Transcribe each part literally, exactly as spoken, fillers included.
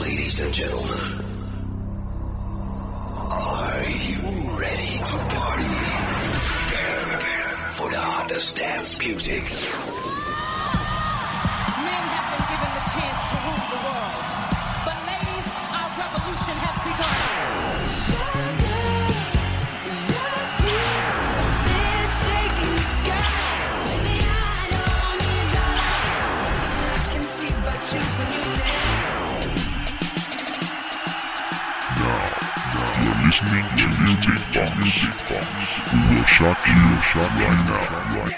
Ladies and gentlemen, are you ready to party? Prepare for the hottest dance music. Men have been given the chance to rule the world. But ladies, our revolution has begun. Listening to Music Box. Music Box. We will shock you, shock you right now. Right.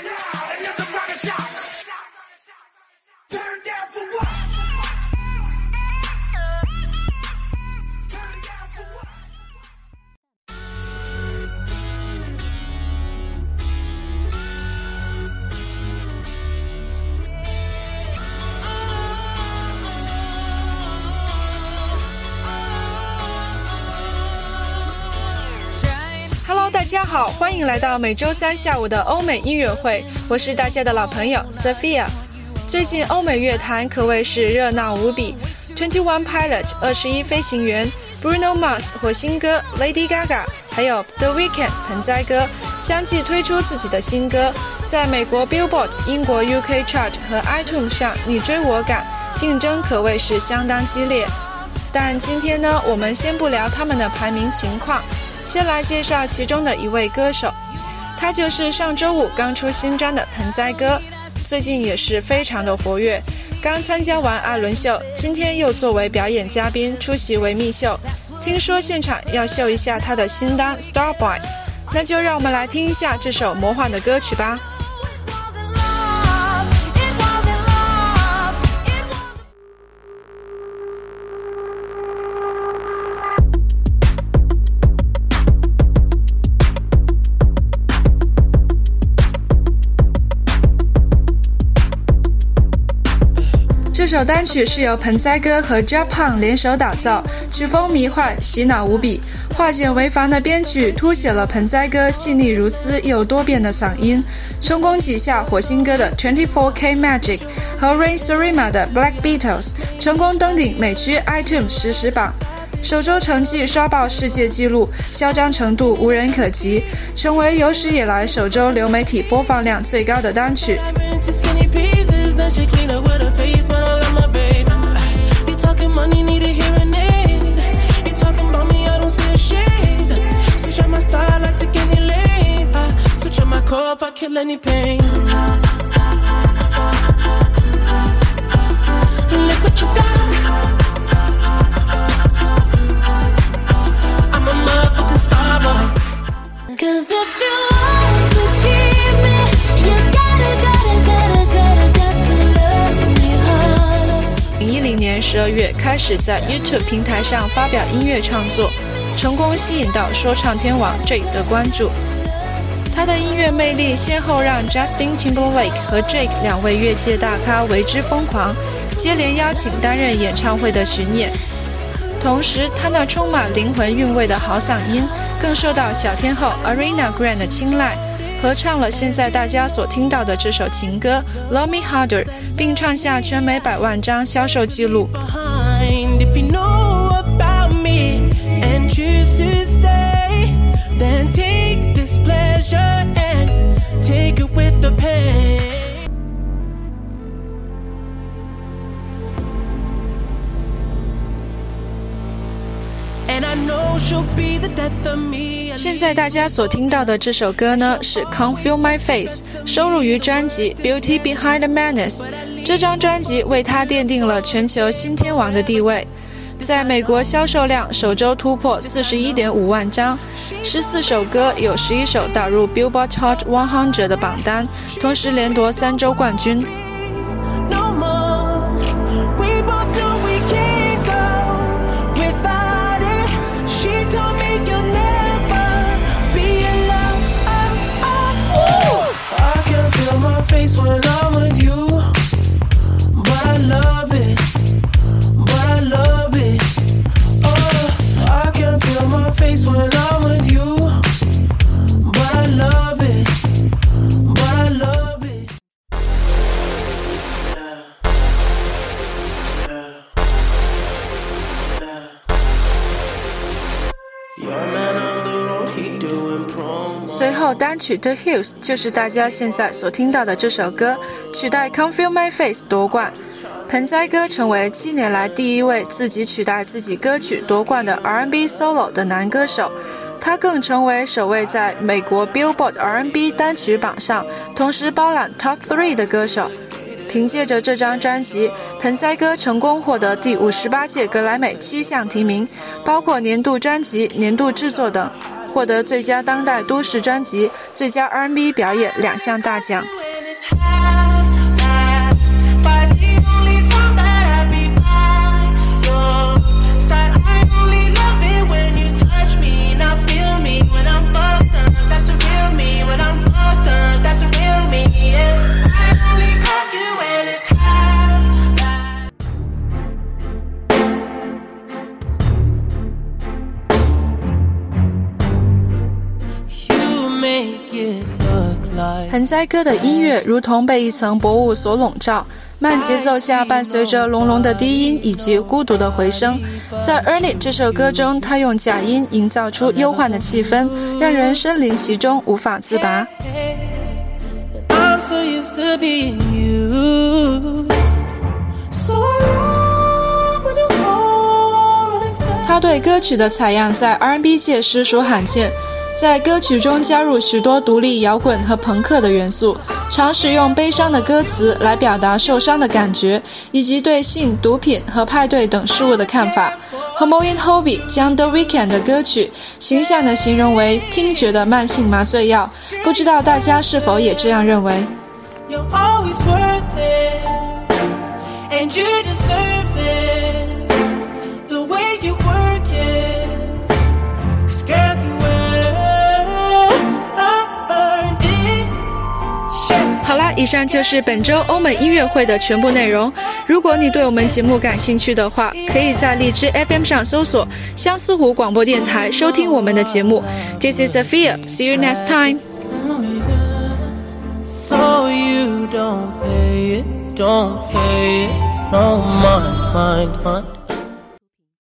Hello， 大家好，欢迎来到每周三下午的欧美音乐会，我是大家的老朋友 Sophia。最近欧美乐坛可谓是热闹无比 ，Twenty One Pilot 二十一飞行员 ，Bruno Mars 火星哥 ，Lady Gaga， 还有 The Weeknd 盆栽哥相继推出自己的新歌，在美国 Billboard、英国 U K Chart 和 iTunes 上你追我赶，竞争可谓是相当激烈。但今天呢，我们先不聊他们的排名情况。先来介绍其中的一位歌手，他就是上周五刚出新专的盆栽哥，最近也是非常的活跃，刚参加完艾伦秀，今天又作为表演嘉宾出席维密秀，听说现场要秀一下他的新单 Starboy， 那就让我们来听一下这首魔幻的歌曲吧。这首单曲是由盆栽哥和 Japan 联手打造，曲风迷幻，洗脑无比，化简为繁的编曲凸显了盆栽哥细腻如丝又多变的嗓音，成功挤下火星哥的 Twenty Four K Magic 和 Rain Sarima 的 Black Beatles， 成功登顶美区 iTunes 实时榜。首周成绩刷爆世界纪录，嚣张程度无人可及，成为有史以来首周流媒体播放量最高的单曲。 Money need a hearing aid. You talking about me, I don't see a shade. Switch on my side, like to get any lane. I switch on my core if I kill any pain. Look what you done. I'm a motherfucking star boy. Cause if you want to keep me, you gotta, gotta, gotta, gotta, got to love me harder. 二零一零年十二月开始在 YouTube 平台上发表音乐创作，成功吸引到说唱天王 Drake 的关注。他的音乐魅力先后让 Justin Timberlake 和 Drake 两位乐界大咖为之疯狂，接连邀请担任演唱会的巡演。同时，他那充满灵魂韵味的好嗓音更受到小天后 Ariana Grande 的青睐，合唱了现在大家所听到的这首情歌 Love Me Harder， 并创下全美百万张销售纪录。现在大家所听到的这首歌呢，是 Can't Feel My Face， 收录于专辑 Beauty Behind the Madness。 这张专辑为他奠定了全球新天王的地位，在美国销售量首周突破 四十一点五万张，十四首歌有十一首打入 Billboard Hot 百的榜单，同时连夺三周冠军。 When I'm with you, but I love it, but I love it. Oh, I can feel my face when I'm with you, but I love it, but I love it. Yeah. Yeah. 随后单曲 The Hills 就是大家现在所听到的这首歌，取代 Can't Feel My Face 夺冠。盆栽哥成为七年来第一位自己取代自己歌曲夺冠的 R and B solo 的男歌手，他更成为首位在美国 Billboard R and B 单曲榜上同时包揽 Top 三 的歌手。凭借着这张专辑，盆栽哥成功获得第五十八届格莱美七项提名，包括年度专辑、年度制作等，获得最佳当代都市专辑、最佳 R and B 表演两项大奖。盆栽哥的音乐如同被一层薄雾所笼罩，慢节奏下伴随着隆隆的低音以及孤独的回声。在 Earn It 这首歌中，他用假音营造出忧患的气氛，让人身临其中无法自拔。 I'm so used to being used. So I love when you call and say. 他对歌曲的采样在 R and B 界实属罕见，在歌曲中加入许多独立摇滚和朋克的元素，常使用悲伤的歌词来表达受伤的感觉，以及对性、毒品和派对等事物的看法。和 Moin Hobby 将 The Weeknd 的歌曲形象地形容为听觉的慢性麻醉药，不知道大家是否也这样认为？ You're always worth it, and you deserve it. The way you work it, 'cause girl you earned it. Shit. 好啦，以上就是本周欧美音乐会的全部内容。如果你对我们节目感兴趣的话，可以在荔枝 F M 上搜索相思湖广播电台收听我们的节目。This is Sophia. See you next time. So you don't pay it, don't pay it, no mind, mind, mind.